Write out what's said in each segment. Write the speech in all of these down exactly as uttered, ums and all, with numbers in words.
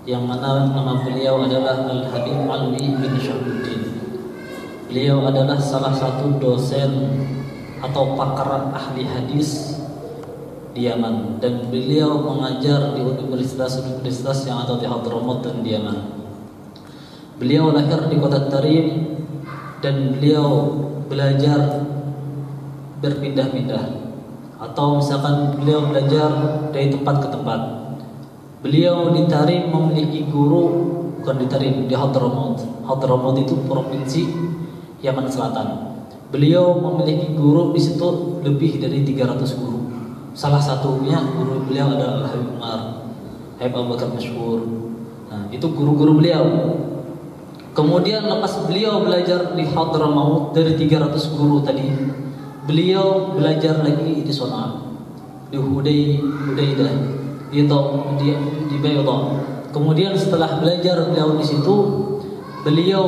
yang mana nama beliau adalah Al-Habib Alwi bin Syahruddin. Beliau adalah salah satu dosen atau pakar ahli hadis di Yaman, dan beliau mengajar di universitas-universitas yang ada di Hadramaut dan di Yaman. Beliau lahir di kota Tarim dan beliau belajar berpindah-pindah, atau misalkan beliau belajar dari tempat ke tempat. Beliau di Tarim memiliki guru, bukan di Tarim, di Hadramaut. Hadramaut itu provinsi Yaman Selatan. Beliau memiliki guru di situ lebih dari tiga ratus guru. Salah satunya guru beliau adalah Habib Umar, Habib Abu Bakar Masyhur. Nah, itu guru-guru beliau. Kemudian lepas beliau belajar di Hadramaut dari tiga ratus guru tadi, beliau belajar lagi di Son'a, di Huday, Hudaydah, di di, di Baydah. Kemudian setelah belajar beliau di situ, beliau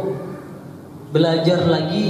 belajar lagi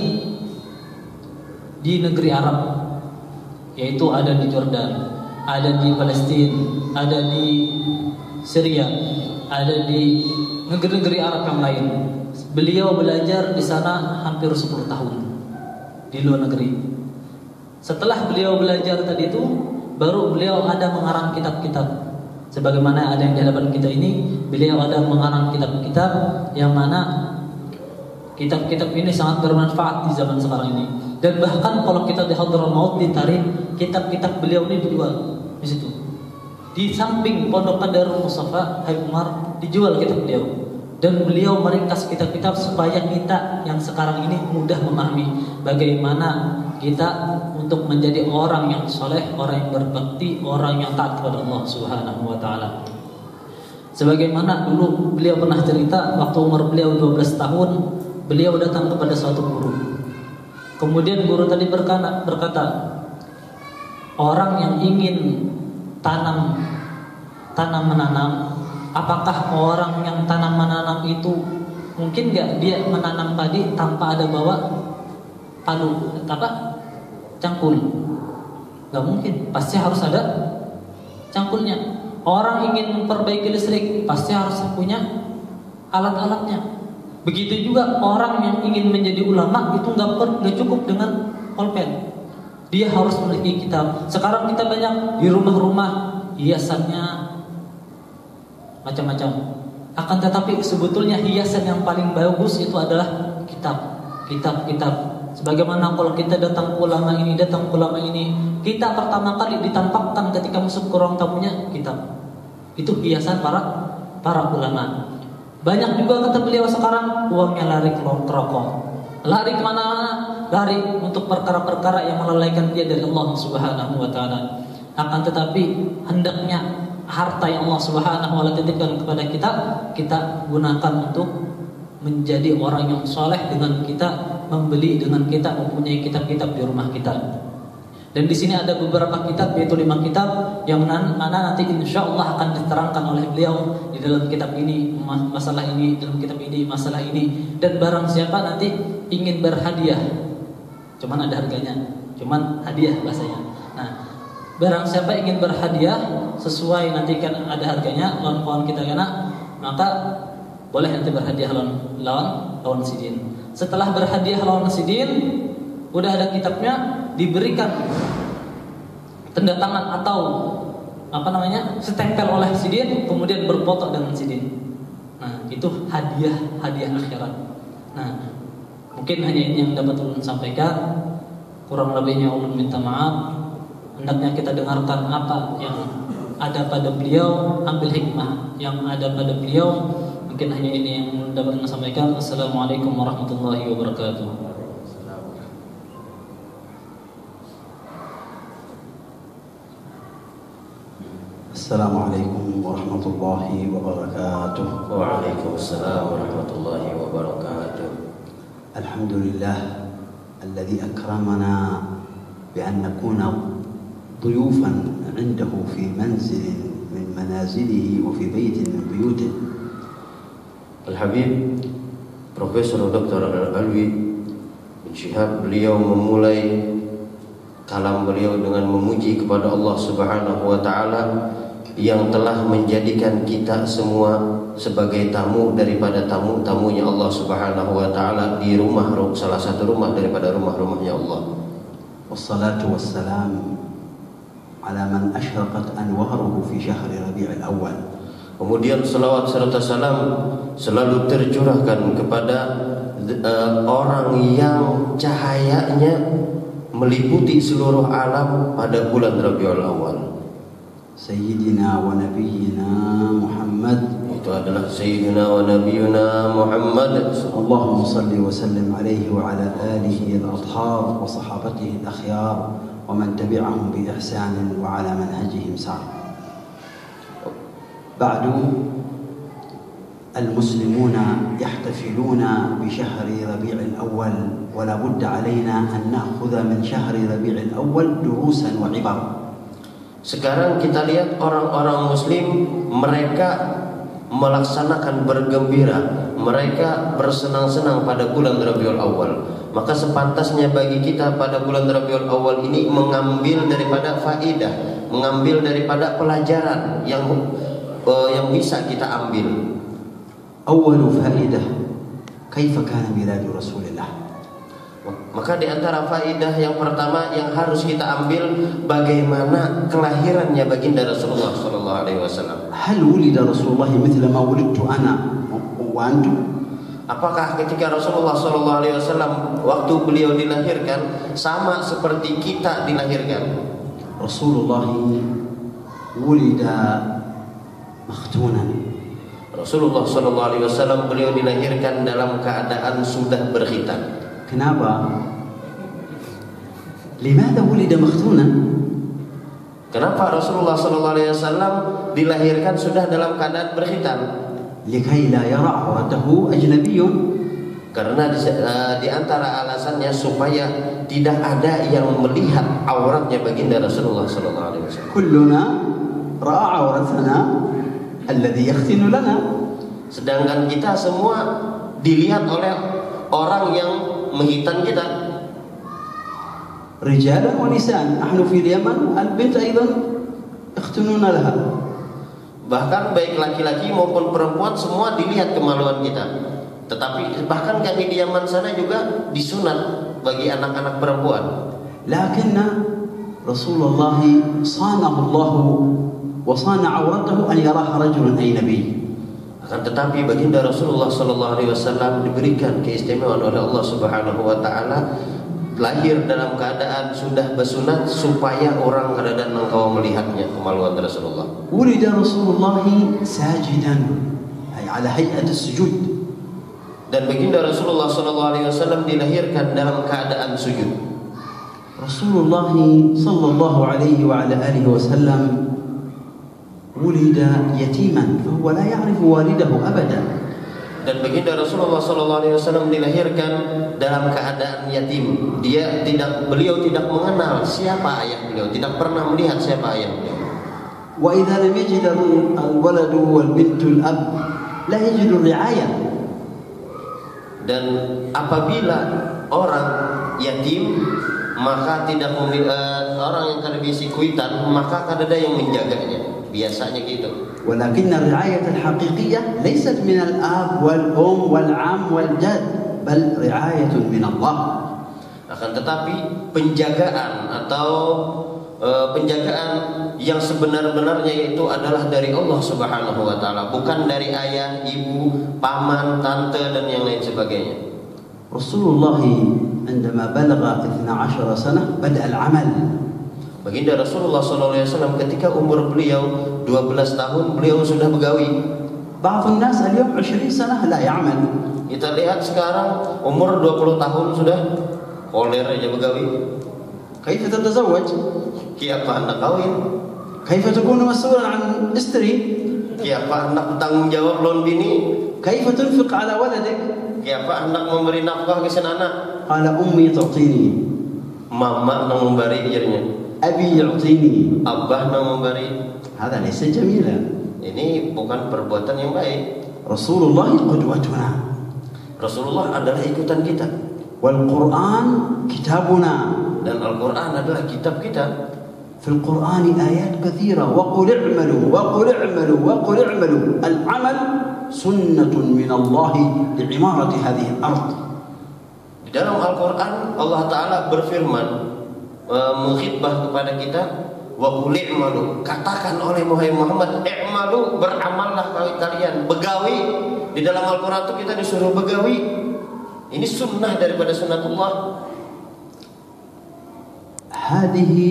di negeri Arab, yaitu ada di Jordan, ada di Palestina, ada di Syria, ada di negeri-negeri Arab yang lain. Beliau belajar di sana hampir sepuluh tahun di luar negeri. Setelah beliau belajar tadi itu, baru beliau ada mengarang kitab-kitab. Sebagaimana ada yang di hadapan kita ini, beliau ada mengarang kitab-kitab yang mana kitab-kitab ini sangat bermanfaat di zaman sekarang ini. Dan bahkan kalau kita di Hadramaut, di Tarim, kitab-kitab beliau ini dijual di situ. Di samping pondokan Darul Mustafa Habib Umar dijual kitab beliau. Dan beliau meringkas kitab-kitab supaya kita yang sekarang ini mudah memahami bagaimana kita untuk menjadi orang yang soleh, orang yang berbakti, orang yang taat kepada Allah Subhanahu wa taala. Sebagaimana dulu beliau pernah cerita, waktu umur beliau dua belas tahun, beliau datang kepada suatu guru. Kemudian guru tadi berkata, berkata orang yang ingin tanam tanam menanam, apakah orang yang tanam menanam itu mungkin nggak dia menanam padi tanpa ada bawa palu, apa cangkul? Nggak mungkin, pasti harus ada cangkulnya. Orang ingin memperbaiki listrik pasti harus punya alat-alatnya. Begitu juga orang yang ingin menjadi ulama itu nggak nggak cukup dengan pulpen, dia harus memiliki kitab. Sekarang kita banyak di rumah-rumah hiasannya macam-macam. Akan tetapi sebetulnya hiasan yang paling bagus itu adalah kitab, kitab-kitab. Sebagaimana kalau kita datang ke ulama ini, datang ke ulama ini, kita pertama kali ditampakkan ketika masuk ke ruang tamunya kitab. Itu hiasan para para ulama. Banyak juga kata beliau sekarang uangnya lari ke rokok. Lari kemana? Lari untuk perkara-perkara yang melalaikan dia dari Allah Subhanahu wa taala. Akan tetapi hendaknya harta yang Allah Subhanahu wa taala titipkan kepada kita, kita gunakan untuk menjadi orang yang soleh dengan kita membeli, dengan kita mempunyai kitab-kitab di rumah kita. Dan di sini ada beberapa kitab, yaitu lima kitab yang mana nanti insya Allah akan diterangkan oleh beliau di dalam kitab ini, masalah ini, dalam kitab ini, masalah ini. Dan barang siapa nanti ingin berhadiah, cuman ada harganya, cuman hadiah bahasanya. Nah, barang siapa ingin berhadiah sesuai nanti kan ada harganya, lawan kawan kita kena, maka boleh nanti berhadiah lawan lawan lawan sidin. Setelah berhadiah lawan sidin, udah ada kitabnya, diberikan tanda tangan atau apa namanya setempel oleh sidin, kemudian berfoto dengan sidin. Nah, itu hadiah hadiah akhirat. Nah, mungkin hanya ini yang dapat ulun sampaikan. Kurang lebihnya ulun minta maaf. Hendaknya kita dengarkan apa yang ada pada beliau, ambil hikmah yang ada pada beliau. Mungkin hanya ini yang dapat saya sampaikan. Assalamualaikum warahmatullahi wabarakatuh. Assalamualaikum warahmatullahi wabarakatuh. Waalaikumsalam warahmatullahi wabarakatuh. Alhamdulillah alladhi akramana bi an nakuna ضيوفا عنده في منزل من منازله وفي بيت من بيوته. Al-Habib Profesor Doktor Al-Alwi bin Syihab, beliau memulai kalam beliau dengan memuji kepada Allah Subhanahu wa taala yang telah menjadikan kita semua sebagai tamu daripada tamu-tamunya Allah Subhanahu wa taala di rumah salah satu rumah daripada rumah-rumahnya Allah. Wassalatu wassalam ala man ashraqat anwaruhu fi syahri Rabi'il Awwal. Kemudian selawat serta salam selalu tercurahkan kepada uh, orang yang cahayanya meliputi seluruh alam pada bulan Rabiul Awal. Sayyidina wa nabiyyina Muhammad, itu adalah Sayyidina wa nabiyuna Muhammad. Allahumma salli wa sallim alaihi wa ala alihi al-athhar wa sahabatihi al-akhyar wa man tabi'ahum bi ihsan wa ala manhajihim sar. Ba'du, المسلمون يحتفلون بشهر ربيع الأول ولا بد علينا أن نأخذ من شهر ربيع الأول دروسا وعبر. Sekarang kita lihat orang-orang muslim, mereka melaksanakan bergembira, mereka bersenang-senang pada bulan Rabiul Awal. Maka sepantasnya bagi kita pada bulan Rabiul Awal ini mengambil daripada faidah, mengambil daripada pelajaran yang uh, yang bisa kita ambil. أول فائدة كيف كان ميلاد رسول الله. Maka di antara faidah yang pertama yang harus kita ambil, bagaimana kelahirannya baginda Rasulullah sallallahu alaihi wasallam. هل ولد رسول الله مثل ما ولدت أنا وأنتم؟ Apakah ketika Rasulullah sallallahu alaihi wasallam waktu beliau dilahirkan sama seperti kita dilahirkan? Rasulullah ولد مختونا. Rasulullah sallallahu alaihi wasallam beliau dilahirkan dalam keadaan sudah berkhitan. Kenapa? Limadha wulida makhtunan? Kenapa Rasulullah sallallahu alaihi wasallam dilahirkan sudah dalam keadaan berkhitan? Likai la yara awratahu ajnabiyyun. Karena di, uh, di antara alasannya supaya tidak ada yang melihat auratnya baginda Rasulullah sallallahu alaihi wasallam. Kulluna ra'a awratana alladhi yakhtinu lana. Sedangkan kita semua dilihat oleh orang yang menghitan kita. Rijalan wa nisaan, nahnu fi al-Yaman al-bint aidan yakhtununa laha. Bahkan baik laki-laki maupun perempuan semua dilihat kemaluan kita. Tetapi bahkan kami di Yaman sana juga disunat bagi anak-anak perempuan. Lakinna Rasulullah sanahu Allah wa sana awratahu an yaraha rajulun ajnabi. Akan tetapi baginda Rasulullah sallallahu alaihi wasallam diberikan keistimewaan oleh Allah Subhanahu wa taala lahir dalam keadaan sudah bersunat supaya orang dan engkau melihatnya kemaluan Rasulullah. Wulida Rasulullah sajidan ay ala hay'at as-sujud. Dan baginda Rasulullah sallallahu alaihi wasallam dilahirkan dalam keadaan sujud. Rasulullah sallallahu alaihi wa ala alihi wasallam ولد يتيما فهو لا يعرف والده أبدا. Dan baginda Rasulullah sallallahu alaihi wasallam dilahirkan dalam keadaan yatim. Dia tidak beliau tidak mengenal siapa ayah beliau, tidak pernah melihat siapa ayah beliau. وإذا لم يجد الولد والبنت الأب لا يجد الرعاية. Dan apabila orang yatim maka tidak memiliki uh, orang yang kadabisi kuitan, maka kadada yang menjaganya. Biasanya gitu. ولكن الرعاية الحقيقية ليست من الأب والأم والعم والجد بل رعاية من الله. Akan tetapi penjagaan atau uh, penjagaan yang sebenar-benarnya itu adalah dari Allah Subhanahu wa taala, bukan dari ayah, ibu, paman, tante dan yang lain sebagainya. Rasulullah عندما بلغ اثنا عشر سنة بدأ العمل. Baginda Rasulullah sallallahu alaihi wasallam ketika umur beliau dua belas tahun beliau sudah begawi. بعض الناس اليوم عشرين سنة لا يعمل. Kita lihat sekarang umur dua puluh tahun sudah koler aja begawi. كيف تتزوج؟ Kiapa anak kawin? كيف تكون مسؤولا عن استري؟ Kiapa anak tanggung jawab lawan bini? كيف تنفق على ولدك؟ Kiapa anak memberi nafkah ke anak? قال أمي تعطيني. Mama nang memberi jadinya. أبي يعطيني. Abah nang memberi. هذا ليس جميلا. Ini bukan perbuatan yang baik. رسول الله قدوتنا. Rasulullah adalah ikutan kita. والقرآن كتابنا. Dan Al-Quran adalah kitab kita. في القرآن آيات كثيرة وقل اعملوا وقل اعملوا وقل اعملوا. العمل سنة من الله لعمارة هذه الأرض. Di dalam Al-Quran Allah Ta'ala berfirman, mengkhitbah kepada kita, wa qul i'malu, katakan oleh Muhammad, i'malu, beramallah kalian, begawi. Di dalam Al-Quran itu kita disuruh begawi. Ini sunnah daripada sunnatullah. Hadihi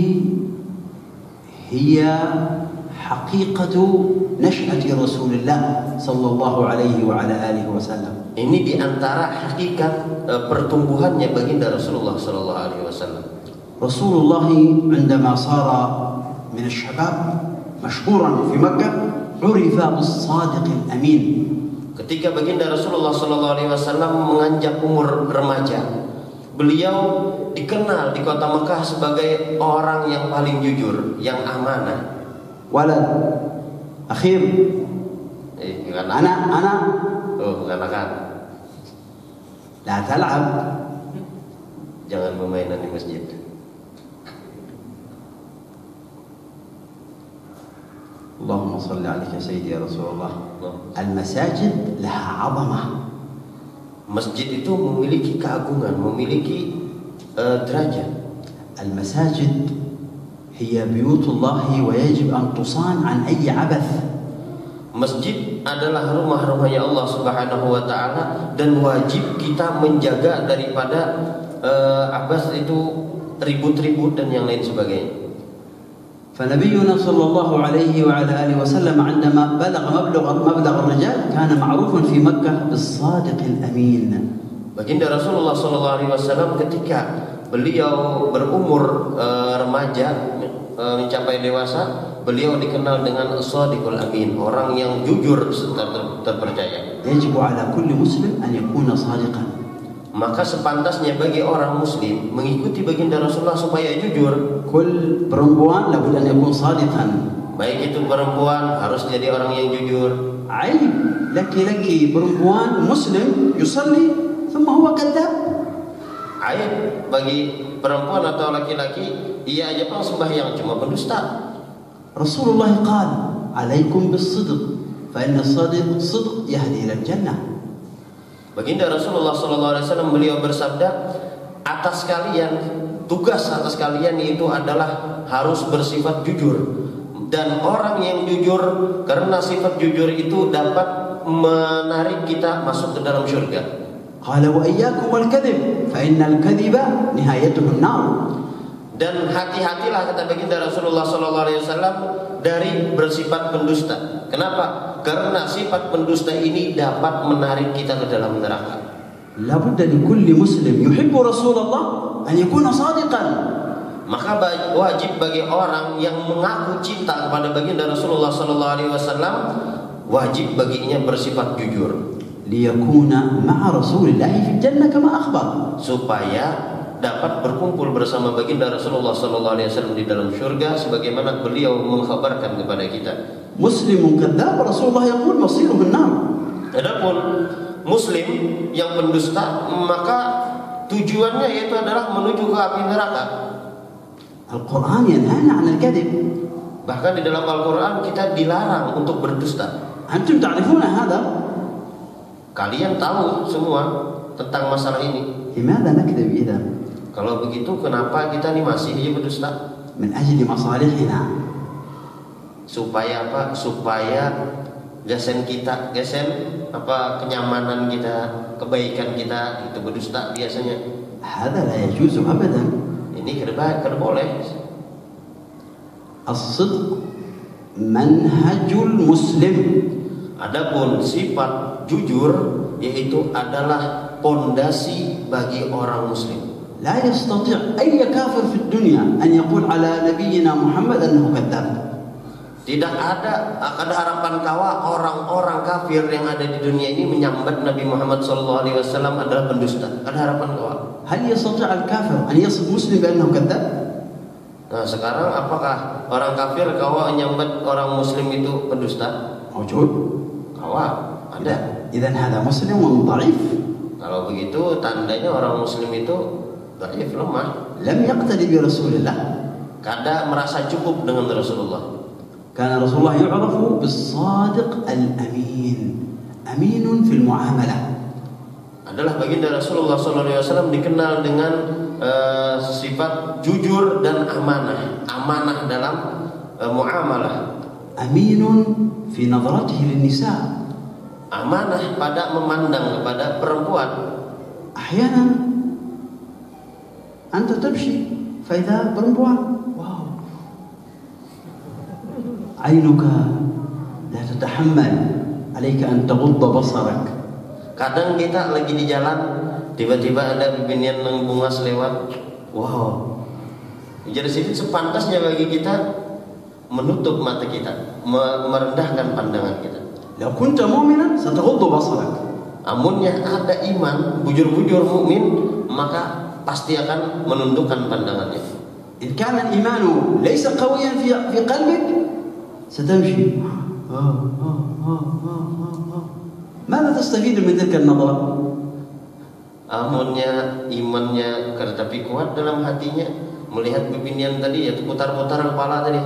hiya haqiqatu nash'ati Rasulullah sallallahu alaihi wa ala alihi wasallam. Ini diantara hakikat uh, pertumbuhannya baginda Rasulullah sallallahu alaihi wasallam. Rasulullah عندما صار من الشباب مشهورا في مكة عرف بالصادق الأمين. Ketika baginda Rasulullah sallallahu alaihi wasallam menganjak umur remaja, beliau dikenal di kota Mekah sebagai orang yang paling jujur, yang amanah. Walad akhir. Eh, bukan anak, anak. Oh, bukan anak. La tal'ab. Jangan bermainan di masjid. Allahumma salli alaika sayyidi ya Rasulullah. Al-masajid laha 'azamah. Masjid itu memiliki keagungan, memiliki uh, derajat. Al-masajid hiya buyutullah wa yajib an tusan an ayyi 'abath. Masjid adalah rumah-rumahnya Allah Subhanahu wa taala dan wajib kita menjaga daripada uh, abas itu ribut-ribut dan yang lain sebagainya. فنبينا صلى الله عليه وعلى آله وسلم عندما بلغ مبلغ مبلغ الرجال كان معروفا في مكة بالصادق الأمين. Baginda Rasulullah sallallahu alaihi wasallam ketika beliau berumur uh, remaja uh, mencapai dewasa, beliau dikenal dengan as-sadiqul amin, orang yang jujur serta ter terpercaya. يجب على كل مسلم أن يكون صادقا. Maka sepantasnya bagi orang muslim mengikuti baginda Rasulullah supaya jujur. Kul perempuan labud an yakun sadiqan. Baik itu perempuan harus jadi orang yang jujur. Aib laki-laki perempuan muslim yusalli thumma huwa kadzab. Aib bagi perempuan atau laki-laki ia aja pun sembahyang cuma pendusta. Rasulullah qala alaikum bis-sidq fa inna as-sadiq sidq yahdi ila al-jannah. Baginda Rasulullah sallallahu alaihi wasallam beliau bersabda, atas kalian, tugas atas kalian itu adalah harus bersifat jujur. Dan orang yang jujur, karena sifat jujur itu dapat menarik kita masuk ke dalam syurga. Qala wa iyyakum wal kadhib fa innal kadhiba nihayatuhu an-nar. Dan hati-hatilah kata baginda Rasulullah sallallahu alaihi wasallam dari bersifat pendusta. Kenapa? Karena sifat pendusta ini dapat menarik kita ke dalam neraka. La budda li kulli muslim yuhibbu Rasulullah an yakuna sadiqan. Maka wajib bagi orang yang mengaku cinta kepada baginda Rasulullah sallallahu alaihi wasallam, wajib baginya bersifat jujur. Liyakuna ma'a Rasulillah fi jannah kama akhbar. Supaya dapat berkumpul bersama baginda Rasulullah sallallahu alaihi wasallam di dalam syurga sebagaimana beliau mengkhabarkan kepada kita. Muslimun kadzdzab Rasulullah yaqul masiruhu an-nar. Adapun muslim yang pendusta maka tujuannya yaitu adalah menuju ke api neraka. Al-Qur'an yanhana 'an al-kadhib. Bahkan di dalam Al-Qur'an kita dilarang untuk berdusta. Antum ta'rifuna hadha? Kalian tahu semua tentang masalah ini. Limadha nakdzib idzan? Kalau begitu kenapa kita ini masih aja berdusta? Min ajli masalihina. Supaya apa? Supaya gasen kita, gasen apa kenyamanan kita, kebaikan kita itu berdusta biasanya. Hadha la yajuzu abadan. Ini kada kada boleh. As-sidq manhajul muslim. Adapun sifat jujur yaitu adalah pondasi bagi orang muslim. لا يستطيع أي كافر في الدنيا أن يقول على نبينا محمد أنه كذاب. Tidak ada ada harapan kawa orang-orang kafir yang ada di dunia ini menyambat Nabi Muhammad sallallahu alaihi wasallam adalah pendusta. Ada harapan kawa. هل يستطيع الكافر أن يصف مسلم بأنه كذاب؟ Nah, sekarang apakah orang kafir kawa menyambat orang muslim itu pendusta? موجود. Kawa ada. إذا هذا مسلم ضعيف. Kalau begitu tandanya orang muslim itu dhaif, lemah. لم يقتدي برسول الله. kada merasa cukup dengan Rasulullah. كان رسول الله يعرف بالصادق الأمين أمين في المعاملة. Adalah baginda Rasulullah shallallahu alaihi wasallam dikenal dengan uh, sifat jujur dan amanah, amanah dalam uh, muamalah. أمين في نظرته للنساء. Amanah pada memandang kepada perempuan. أحيانا أنت تمشي فإذا perempuan واو عينك لا تتحمل عليك أن تغض بصرك. Kadang kita lagi di jalan, tiba-tiba ada bibinian yang bungas lewat. Wow. Jadi sini sepantasnya bagi kita menutup mata kita, merendahkan pandangan kita. لو كنت مؤمنا ستغض بصرك. Amunnya ada iman, bujur-bujur mukmin, maka pasti akan menundukkan pandangannya. إن كان الإيمان ليس قويا في في قلبك ستمشي. ماذا تستفيد من تلك النظرة؟ Amunnya imannya tapi kuat dalam hatinya, melihat bibinian tadi, yaitu putar-putar kepala tadi.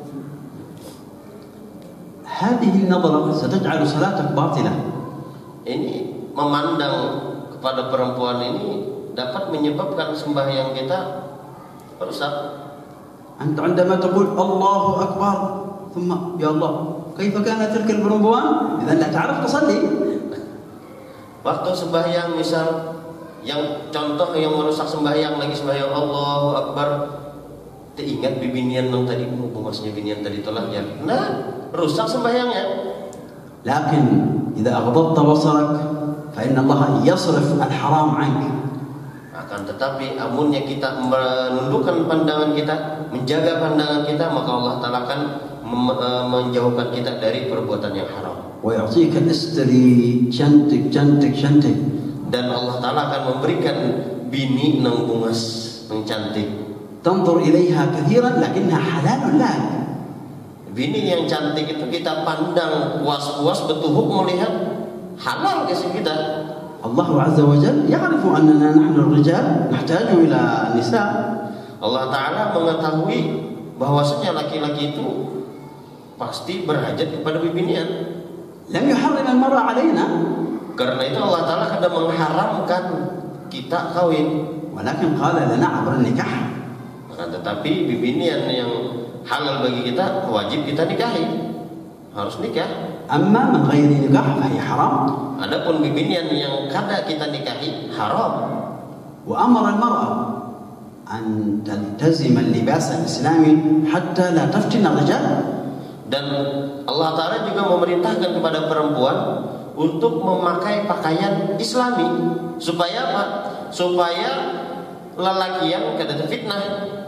هذه النظرة ستجعل صلاتك باطلة. Ini memandang kepada perempuan ini dapat menyebabkan sembahyang kita rusak. أنت عندما تقول الله أكبر ثم يا الله كيف كانت تلك البرمبوان إذا لا تعرف تصلي. Waktu sembahyang misal yang contoh yang merusak sembahyang lagi sembahyang Allahu Akbar, teringat bibinian yang tadi, bungasnya bibinian tadi telah ya, nah rusak sembahyangnya. لكن إذا أغضضت بصرك فإن الله يصرف الحرام عنك. Akan tetapi amunnya kita menundukkan pandangan kita, menjaga pandangan kita, maka Allah Ta'ala akan menjauhkan kita dari perbuatan yang haram. ويعطيك استري cantik cantik cantik. Dan Allah Ta'ala akan memberikan bini nang bungas nang cantik. تنظر إليها كثيرا لكنها حلال لك. Bini yang cantik itu kita pandang puas-puas betuhuk melihat, halal kasih kita. الله عز وجل يعرف أننا نحن الرجال نحتاج إلى النساء. Allah Ta'ala mengetahui bahwasanya laki-laki itu pasti berhajat kepada bibinian. لم يحرم المرأة علينا. Karena itu Allah Ta'ala kadang mengharamkan kita kawin. ولكن قال لنا عبر النكاح. Akan tetapi bibinian yang halal bagi kita wajib kita nikahi, harus nikah. أما من غير نكاح فهي حرام. Adapun bibinian yang kada kita nikahi haram. وأمر المرأة أن تلتزم اللباس الإسلامي حتى لا تفتن الرجال. Dan Allah Ta'ala juga memerintahkan kepada perempuan untuk memakai pakaian Islami supaya apa? Supaya lelakian kada terfitnah.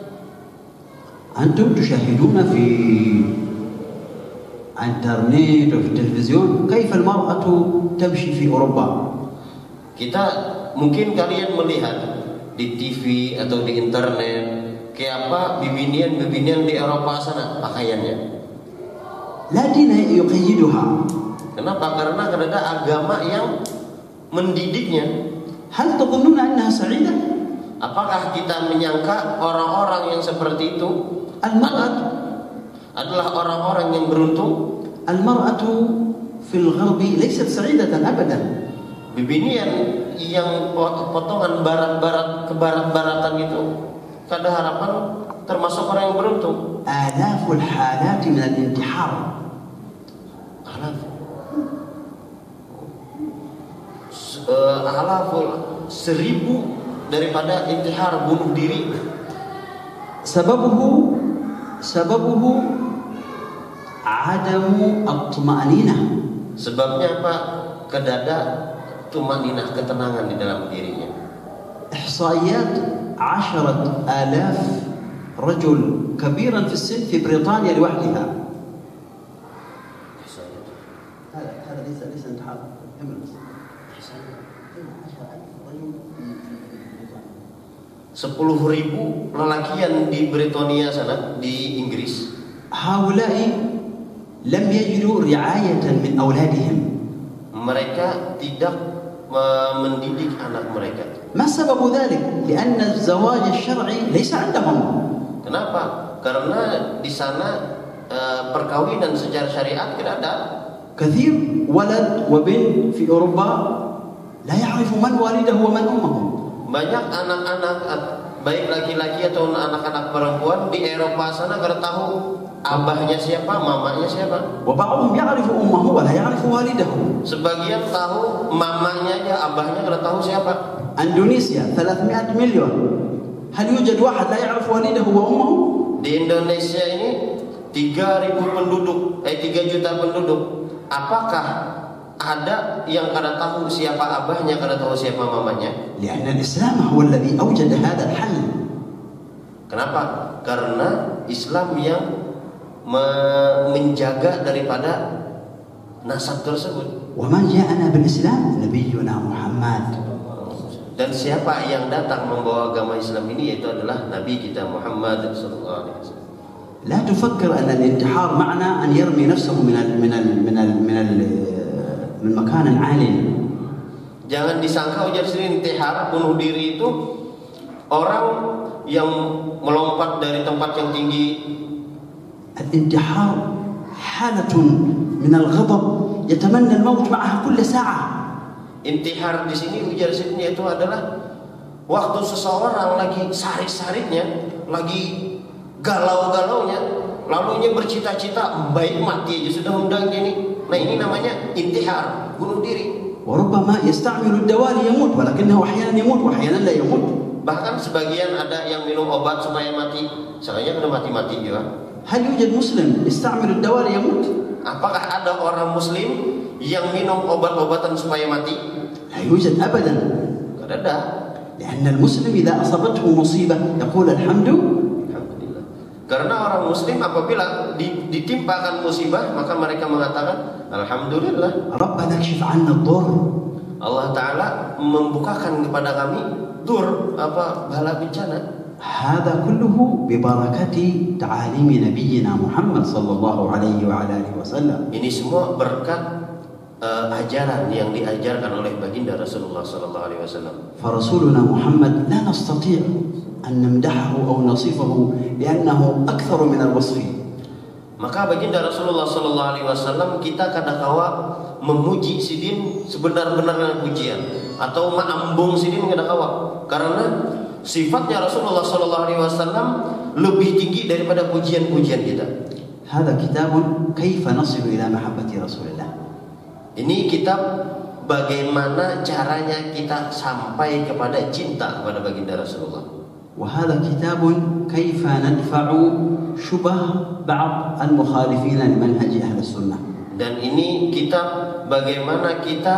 أنتم تشاهدون في الانترنت وفي التلفزيون كيف المرأة تمشي في أوروبا. Kita mungkin kalian melihat di T V atau di internet kayak apa bibinian-bibinian di Eropa sana pakaiannya. لا دين يقيدها. Kenapa? Karena ada agama yang mendidiknya. هل تظنون أنها سعيدة؟ Apakah kita menyangka orang-orang yang seperti itu المرأة adalah orang-orang yang beruntung? المرأة في الغرب ليست سعيدة أبدا. Bibinian yang potongan barat-barat ke barat-baratan itu kada harapan termasuk orang yang beruntung. آلاف الحالات من الانتحار. Alaf. Uh, alaful seribu daripada intihar bunuh diri. سببه سببه عدم الطمأنينة. Sebabnya apa? Kedada tumaninah, ketenangan di dalam dirinya. إحصائيات عشرة آلاف رجل كبيرا في السن في بريطانيا لوحدها. هذا هذا ليس ليس انتحار. Sepuluh ribu lelakian di Britania sana, di Inggris. هؤلاء لم يجدوا رعاية من أولادهم. Mereka tidak mendidik anak mereka. ما سبب ذلك؟ لأن الزواج الشرعي ليس عندهم. Kenapa? Karena di sana uh, perkawinan secara syariat tidak ada. كثير ولد وبنت في أوروبا لا يعرف من والده ومن أمه. Banyak anak-anak baik laki-laki atau anak-anak perempuan di Eropa sana kada tahu abahnya siapa, mamanya siapa. وبعضهم يعرف أمه ولا يعرف والده. Sebagian tahu mamanya aja, abahnya kada tahu siapa. إندونيسيا ثلاثمائة مليون. هل يوجد واحد لا يعرف والده وأمه؟ Di Indonesia ini tiga ribu penduduk, eh tiga juta penduduk. Apakah ada yang kada tahu siapa abahnya, kada tahu siapa mamanya? لأن الإسلام هو الذي أوجد هذا الحل. Kenapa? Karena Islam yang me- menjaga daripada nasab tersebut. ومن جاءنا بالإسلام نبينا محمد. Dan siapa yang datang membawa agama Islam ini, yaitu adalah Nabi kita Muhammad sallallahu alaihi wasallam. لا تفكر أن الانتحار معنى أن يرمي نفسه من ال من ال من ال من ال من مكان عالي. Jangan disangka ujar sini intihar, bunuh diri itu orang yang melompat dari tempat yang tinggi. الانتحار حالة من الغضب يتمنى الموت معها كل ساعة. Intihar di sini ujar sini itu adalah waktu seseorang lagi sarik-sariknya, lagi galau-galaunya, lalu ia bercita-cita baik mati aja sudah undang ini. Nah ini namanya intihar, bunuh diri. وربما يستعمل الدواء ليموت ولكنه أحيانا يموت وأحيانا لا يموت. Bahkan sebagian ada yang minum obat supaya mati, sebenarnya sudah mati-mati juga. هل يوجد مسلم يستعمل الدواء ليموت؟ Apakah ada orang Muslim yang minum obat-obatan supaya mati? لا يوجد أبدا. Tidak ada. لأن المسلم إذا أصابته مصيبة يقول الحمد. Alhamdulillah. Karena orang Muslim apabila ditimpakan musibah maka mereka mengatakan Alhamdulillah. ربنا اكشف عنا الضر. Allah Ta'ala membukakan kepada kami dur, apa, bala bencana. هذا كله ببركة تعاليم نبينا محمد صلى الله عليه وعلى آله وسلم. Ini semua berkat uh, ajaran yang diajarkan oleh baginda Rasulullah sallallahu alaihi wasallam. فرسولنا محمد لا نستطيع أن نمدحه أو نصفه لأنه أكثر من الوصف. Maka baginda Rasulullah sallallahu alaihi wasallam kita kadangkala memuji sidin sebenar-benarnya pujian atau ma'ambung sidin kadangkala karena sifatnya Rasulullah sallallahu alaihi wasallam lebih tinggi daripada pujian-pujian kita. هذا كتاب كيف نصل إلى محبة رسول الله. Ini kitab bagaimana caranya kita sampai kepada cinta kepada baginda Rasulullah. وهذا كتاب كيف ندفع شبه بعض المخالفين لمنهج أهل السنة. Dan ini kitab bagaimana kita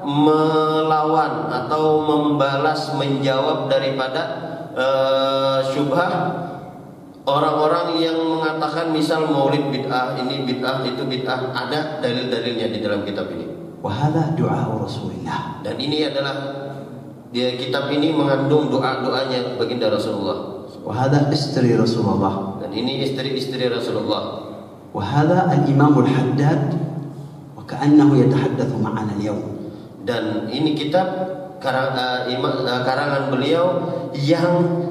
melawan atau membalas menjawab daripada uh, syubhah orang-orang yang mengatakan misal maulid bid'ah, ini bid'ah, itu bid'ah. Ada dalil-dalilnya di dalam kitab ini. وهذا دعاء رسول الله. Dan ini adalah dia kitab ini mengandung doa-doanya baginda Rasulullah. وهذا istri رسول الله. Dan ini istri-istri Rasulullah. وهذا الإمام الحداد وكأنه يتحدث معنا اليوم. Dan ini kitab karang, uh, ima, uh, karangan beliau yang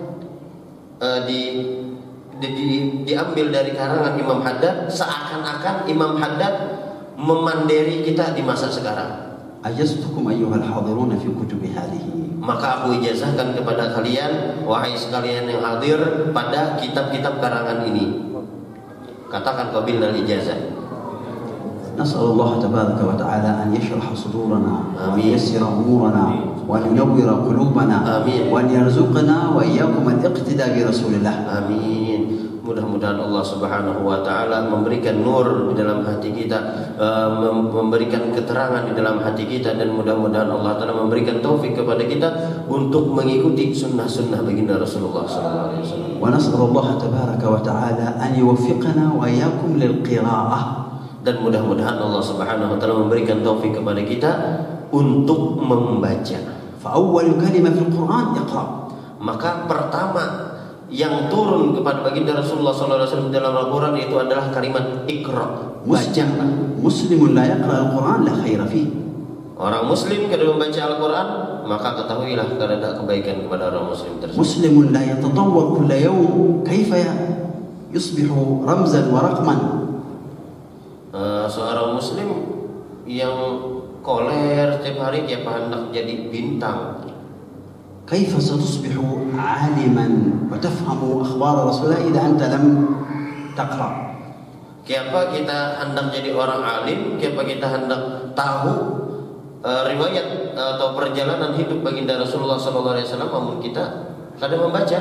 uh, di, di, di, diambil dari karangan Imam Haddad, seakan-akan Imam Haddad memandiri kita di masa sekarang. أجزتكم أيها الحاضرون في كتب هذه. Maka aku ijazahkan kepada kalian, wahai sekalian yang hadir, pada kitab-kitab karangan ini. Katakan qabilna al-ijazah. نسأل الله تبارك وتعالى أن يشرح صدورنا وأن آمين. ييسر أمورنا وأن ينور قلوبنا آمين. وأن يرزقنا وإياكم الاقتداء برسول الله. Amin. Mudah-mudahan Allah Subhanahu wa taala memberikan nur di dalam hati kita, uh, memberikan keterangan di dalam hati kita, dan mudah-mudahan Allah taala memberikan taufik kepada kita untuk mengikuti sunnah-sunnah baginda Rasulullah sallallahu alaihi wasallam. ونسأل الله تبارك وتعالى أن يوفقنا وإياكم للقراءة. Dan mudah-mudahan Allah Subhanahu wa taala memberikan taufik kepada kita untuk membaca. فأول كلمة في القرآن اقرأ. Maka pertama yang turun kepada baginda Rasulullah sallallahu alaihi wasallam dalam Al-Qur'an itu adalah kalimat Iqra. Baca. مسلم لا يقرأ القرآن لا خير فيه. Orang muslim kalau membaca Al-Qur'an, maka ketahuilah tidak ada kebaikan kepada orang muslim tersebut. مسلم لا يتطور كل يوم كيف يصبح رمزا ورقما. Uh, seorang muslim yang koler setiap hari dia hendak jadi bintang. كيف ستصبح عالما وتفهم أخبار رسول الله إذا أنت لم تقرأ؟ Kenapa kita hendak jadi orang alim? Kenapa kita hendak tahu uh, riwayat uh, atau perjalanan hidup baginda Rasulullah Sallallahu Alaihi Wasallam, namun kita kadang membaca.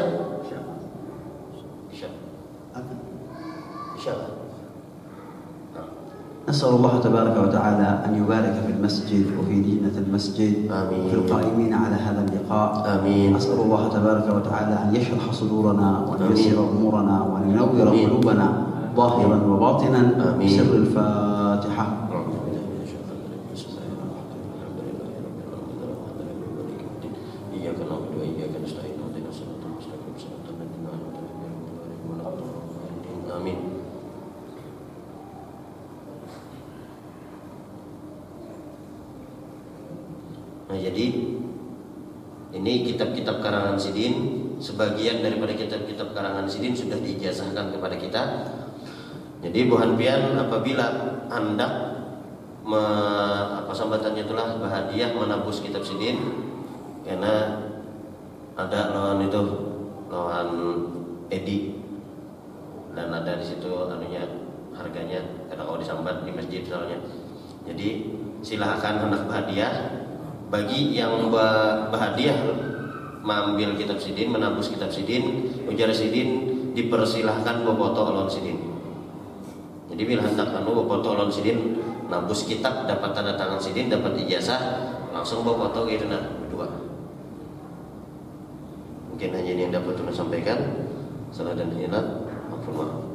نسأل الله تبارك وتعالى أن يبارك في المسجد وفي دينة المسجد آمين. في القائمين على هذا اللقاء. آمين. أسأل الله تبارك وتعالى أن يشرح صدورنا وأن ييسر أمورنا وأن ينور قلوبنا ظاهرا وباطنا بسر الفاتحة. Amin. Nah, jadi ini kitab-kitab karangan Sidin, sebagian daripada kitab-kitab karangan Sidin sudah diijazahkan kepada kita. Jadi Bu Hanfian apabila hendak me, apa sambatannya itulah berhadiah menabus kitab Sidin, karena ada lawan itu lawan Edi dan ada di situ anunya harganya karena kalau disambat di masjid misalnya. Jadi silahkan hendak berhadiah. Bagi yang berhadiah mengambil kitab Sidin, menabus kitab Sidin, ujar Sidin, dipersilahkan boboto alon Sidin. Jadi bila hendak anu boboto alon Sidin, nabus kitab dapat tanda tangan Sidin, dapat ijazah, langsung boboto gitu nah berdua. Mungkin hanya ini yang dapat saya sampaikan. Salah dan hilaf, maaf.